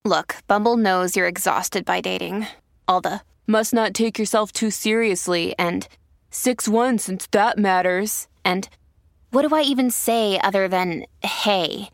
Look, Bumble knows you're exhausted by dating. All the must not take yourself too seriously and 6'1" since that matters. And what do I even say other than hey?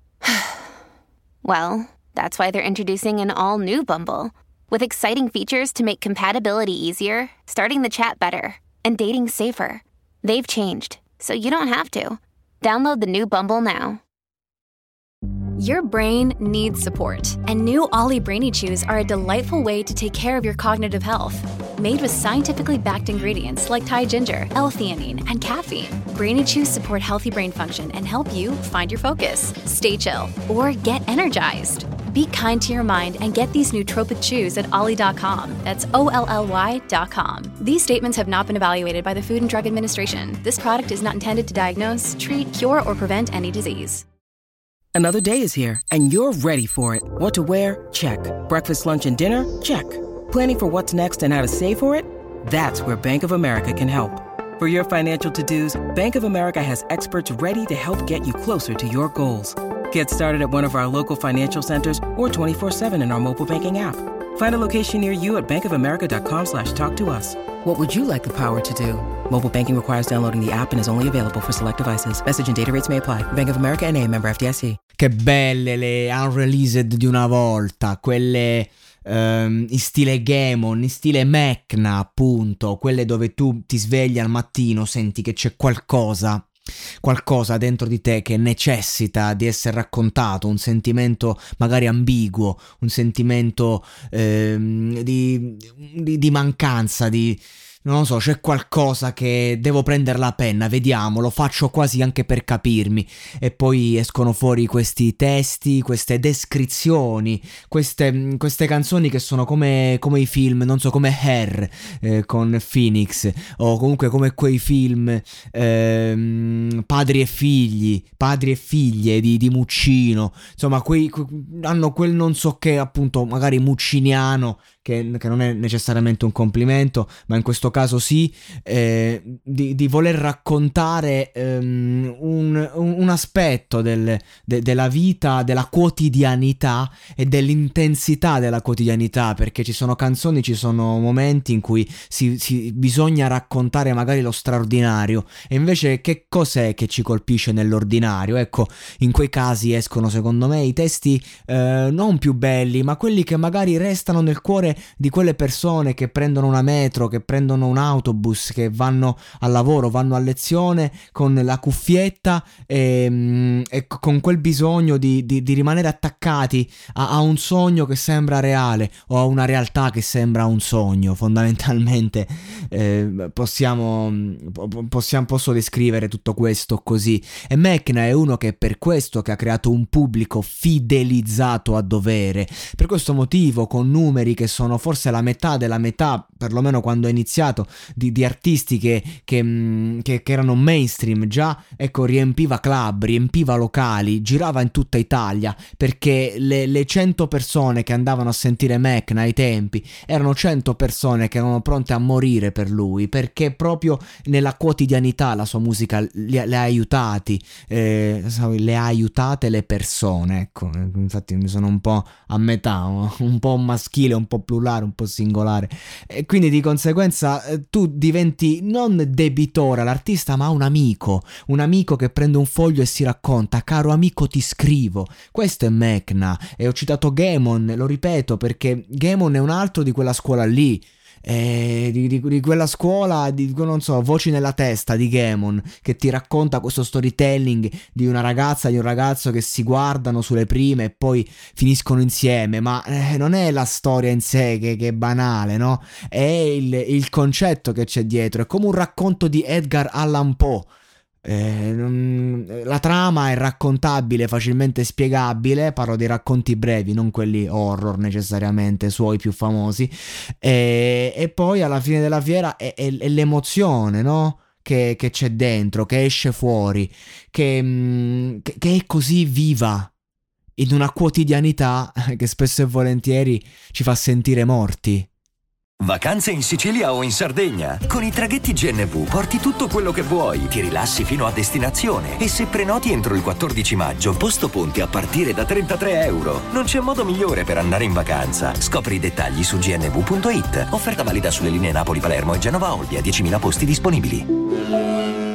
Well, that's why they're introducing an all-new Bumble with exciting features to make compatibility easier, starting the chat better, and dating safer. They've changed, so you don't have to. Download the new Bumble now. Your brain needs support, and new Ollie Brainy Chews are a delightful way to take care of your cognitive health. Made with scientifically backed ingredients like Thai ginger, L-theanine, and caffeine, Brainy Chews support healthy brain function and help you find your focus, stay chill, or get energized. Be kind to your mind and get these nootropic chews at ollie.com. That's OLLY.com. These statements have not been evaluated by the Food and Drug Administration. This product is not intended to diagnose, treat, cure, or prevent any disease. Another day is here, and you're ready for it. What to wear? Check. Breakfast, lunch, and dinner? Check. Planning for what's next and how to save for it? That's where Bank of America can help. For your financial to-dos, Bank of America has experts ready to help get you closer to your goals. Get started at one of our local financial centers or 24/7 in our mobile banking app. Find a location near you at bankofamerica.com/talktous. What would you like the power to do? Mobile banking requires downloading the app and is only available for select devices. Message and data rates may apply. Bank of America N.A., member FDIC. Che belle le unreleased di una volta, quelle in stile Gaemon, in stile Mecna appunto, quelle dove tu ti svegli al mattino, senti che c'è qualcosa dentro di te che necessita di essere raccontato, un sentimento magari ambiguo, un sentimento di mancanza, non lo so, c'è qualcosa che devo prendere la penna, vediamo, lo faccio quasi anche per capirmi, e poi escono fuori questi testi, queste descrizioni, queste canzoni che sono come i film, non so, come Hair con Phoenix, o comunque come quei film padri e figlie di Muccino, insomma hanno quel non so che, appunto, magari mucciniano, che non è necessariamente un complimento, ma in questo caso sì, di voler raccontare un aspetto della vita, della quotidianità e dell'intensità della quotidianità, perché ci sono canzoni, ci sono momenti in cui bisogna raccontare magari lo straordinario, e invece che cos'è che ci colpisce nell'ordinario? Ecco, in quei casi escono secondo me i testi non più belli, ma quelli che magari restano nel cuore di quelle persone che prendono una metro, che prendono un autobus, che vanno al lavoro, vanno a lezione con la cuffietta e con quel bisogno di rimanere attaccati a un sogno che sembra reale, o a una realtà che sembra un sogno. Fondamentalmente posso descrivere tutto questo così. E Mecna è uno che per questo che ha creato un pubblico fidelizzato a dovere, per questo motivo, con numeri che sono forse la metà della metà, perlomeno quando è iniziato, di artisti che erano mainstream già, ecco, riempiva club, riempiva locali, girava in tutta Italia, perché le 100 persone che andavano a sentire Mecna ai tempi erano 100 persone che erano pronte a morire per lui, perché proprio nella quotidianità la sua musica le ha aiutati, le ha aiutate le persone, ecco. Infatti mi sono un po' a metà, un po' maschile, un po' plurale, un po' singolare, e quindi di conseguenza tu diventi non debitore all'artista, ma un amico che prende un foglio e si racconta: caro amico, ti scrivo. Questo è Mecna. E ho citato Gaemon, lo ripeto, perché Gaemon è un altro di quella scuola lì, di quella scuola di, non so, Voci nella testa di Gaemon, che ti racconta questo storytelling di una ragazza e di un ragazzo che si guardano sulle prime e poi finiscono insieme, ma non è la storia in sé che è banale, no? È il concetto che c'è dietro, è come un racconto di Edgar Allan Poe. La trama è raccontabile, facilmente spiegabile, parlo dei racconti brevi, non quelli horror necessariamente, suoi più famosi, e poi alla fine della fiera è l'emozione, no? Che c'è dentro, che esce fuori, che è così viva in una quotidianità che spesso e volentieri ci fa sentire morti. Vacanze in Sicilia o in Sardegna. Con i traghetti GNV porti tutto quello che vuoi, ti rilassi fino a destinazione e se prenoti entro il 14 maggio, posto ponti a partire da €33. Non c'è modo migliore per andare in vacanza. Scopri i dettagli su gnv.it. Offerta valida sulle linee Napoli-Palermo e Genova-Olbia, 10.000 posti disponibili.